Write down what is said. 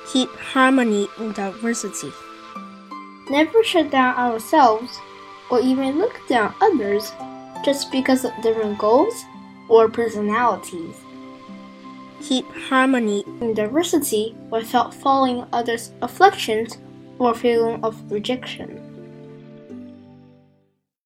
Keep harmony in diversity. Never shut down ourselves or even look down others just because of different goals or personalities. Keep harmony in diversity without following others' afflictions or feeling of rejection.